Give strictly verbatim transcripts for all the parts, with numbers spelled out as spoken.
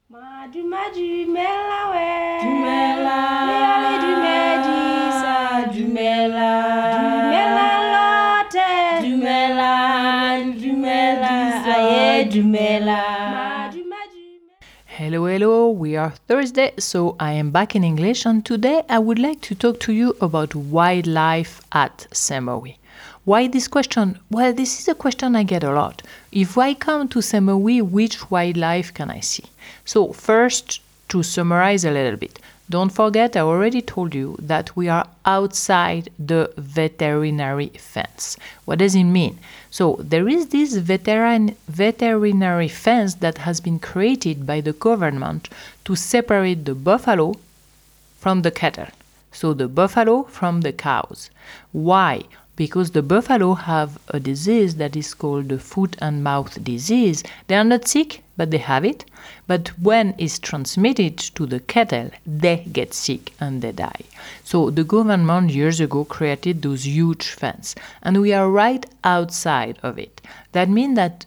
Madu madu mela we Dumela, Leale du medisa Dumela, Dumela lote Dumela, Dumela, aye, Dumela. Madu madu Hello, hello, we are Thursday, so I am back in English, and today I would like to talk to you about wildlife at Saint-Maui. Why this question? Well, this is a question I get a lot. If I come to Saint-Maui, which wildlife can I see? So, first, to summarize a little bit, don't forget I already told you that we are outside the veterinary fence. What does it mean? So there is this veteran, veterinary fence that has been created by the government to separate the buffalo from the cattle. So the buffalo from the cows. Why? Because the buffalo have a disease that is called the foot and mouth disease. They are not sick, but they have it. But when it's transmitted to the cattle, they get sick and they die. So the government years ago created those huge fence, and we are right outside of it. That means that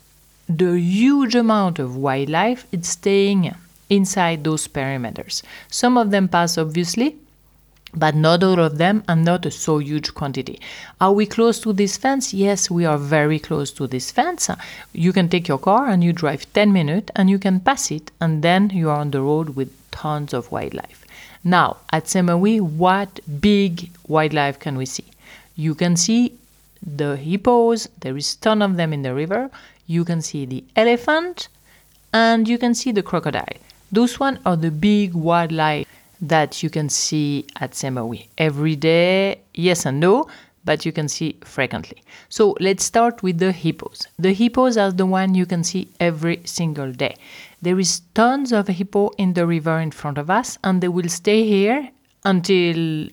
the huge amount of wildlife is staying inside those perimeters. Some of them pass, obviously, but not all of them and not a so huge quantity. Are we close to this fence? Yes, we are very close to this fence. You can take your car and you drive ten minutes and you can pass it, and then you are on the road with tons of wildlife. Now, at Saint-Maui, what big wildlife can we see? You can see the hippos, there is ton of them in the river. You can see the elephant and you can see the crocodile. Those one are the big wildlife that you can see at Saint-Maui every day. Yes and no, but you can see frequently. So let's start with the hippos. The hippos are the one you can see every single day. There is tons of hippo in the river in front of us, and they will stay here until,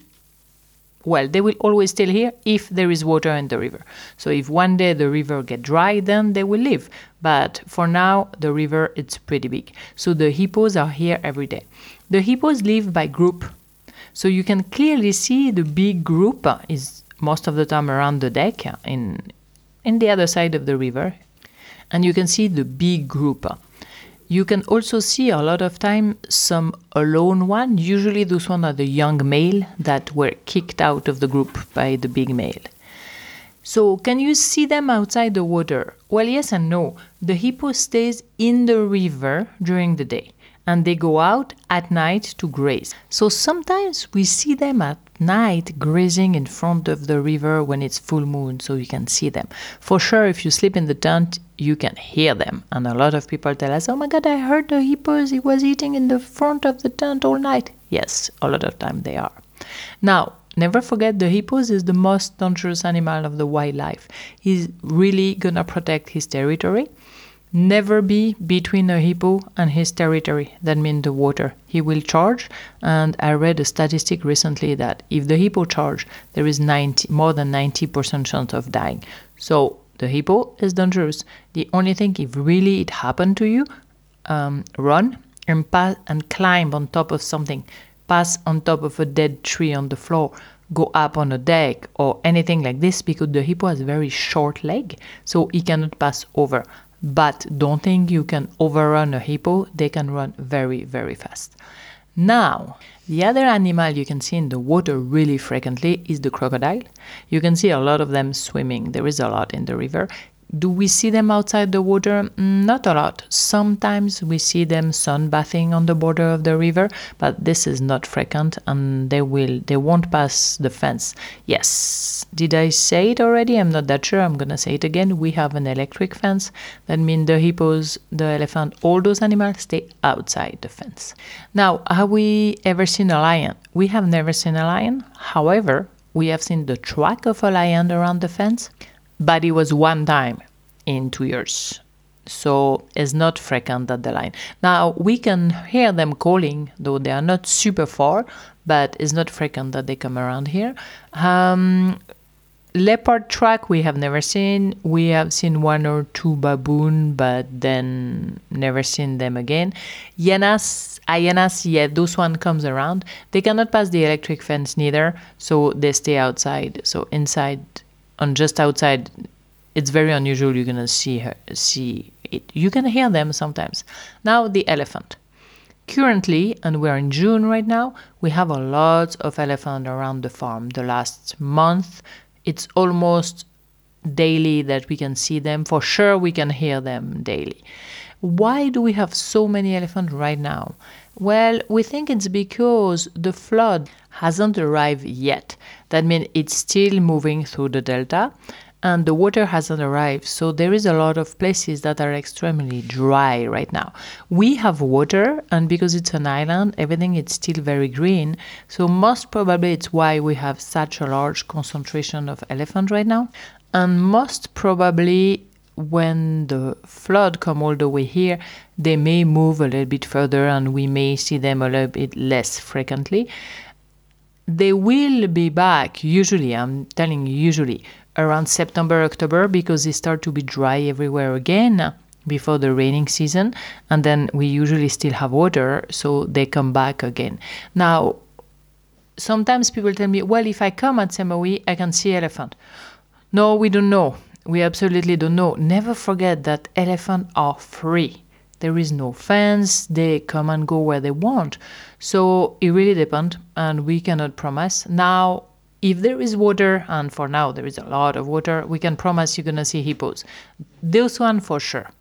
well, they will always stay here if there is water in the river. So if one day the river get dry, then they will leave. But for now, the river, it's pretty big. So the hippos are here every day. The hippos live by group. So you can clearly see the big group is most of the time around the deck in, in the other side of the river. And you can see the big group. You can also see a lot of time some alone one. Usually those one are the young male that were kicked out of the group by the big male. So can you see them outside the water? Well, yes and no. The hippo stays in the river during the day, and they go out at night to graze. So sometimes we see them at night grazing in front of the river when it's full moon, so you can see them. For sure, if you sleep in the tent, you can hear them. And a lot of people tell us, oh my God, I heard the hippos, he was eating in the front of the tent all night. Yes, a lot of time they are. Now, never forget the hippos is the most dangerous animal of the wildlife. He's really gonna protect his territory. Never be between a hippo and his territory, that means the water. He will charge, and I read a statistic recently that if the hippo charge, there is ninety, more than ninety percent chance of dying. So the hippo is dangerous. The only thing, if really it happened to you, um, run and pass and climb on top of something. Pass on top of a dead tree on the floor. Go up on a deck or anything like this, because the hippo has a very short leg, so he cannot pass over. But don't think you can overrun a hippo. They can run very, very fast. Now, the other animal you can see in the water really frequently is the crocodile. You can see a lot of them swimming. There is a lot in the river. Do we see them outside the water? Not a lot. Sometimes we see them sunbathing on the border of the river, but this is not frequent, and they will they won't pass the fence. Yes, did I say it already? I'm not that sure. I'm gonna say it again. We have an electric fence. That means the hippos, the elephant, all those animals stay outside the fence. Now, have we ever seen a lion? We have never seen a lion. However, we have seen the track of a lion around the fence, but it was one time in two years. So it's not frequent at the line. Now, we can hear them calling, though they are not super far, but it's not frequent that they come around here. Um, leopard track we have never seen. We have seen one or two baboon, but then never seen them again. Hyenas, hyenas, yeah, those one comes around. They cannot pass the electric fence neither, so they stay outside. So inside, on just outside, it's very unusual you're gonna see her see it. You can hear them sometimes. Now the elephant. Currently, and we're in June right now, we have a lot of elephant around the farm. The last month, it's almost daily that we can see them. For sure, we can hear them daily. Why do we have so many elephants right now? Well, we think it's because the flood hasn't arrived yet. That means it's still moving through the delta and the water hasn't arrived. So there is a lot of places that are extremely dry right now. We have water, and because it's an island, everything is still very green. So most probably it's why we have such a large concentration of elephant right now. And most probably when the flood come all the way here, they may move a little bit further and we may see them a little bit less frequently. They will be back usually, I'm telling you usually, around September, October, because they start to be dry everywhere again before the raining season. And then we usually still have water, so they come back again. Now, sometimes people tell me, well, if I come at Semowee, I can see elephant. No, we don't know. We absolutely don't know. Never forget that elephants are free. There is no fence. They come and go where they want. So it really depends, and we cannot promise. Now, if there is water, and for now there is a lot of water, we can promise you're going to see hippos. Those one for sure.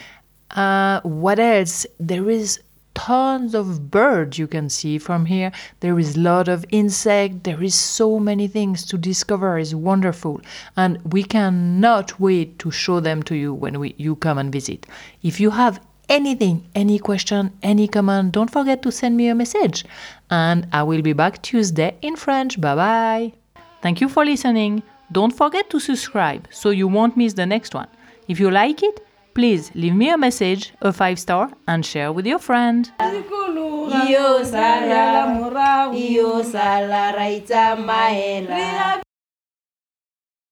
Uh, what else? There is tons of birds you can see from here. There is a lot of insect. There is so many things to discover. It's wonderful. And we cannot wait to show them to you when we, you come and visit. If you have anything, any question, any comment, don't forget to send me a message. And I will be back Tuesday in French. Bye-bye. Thank you for listening. Don't forget to subscribe so you won't miss the next one. If you like it, please leave me a message, a five star, and share with your friend. Iyo sala, iyo sala raita mahela.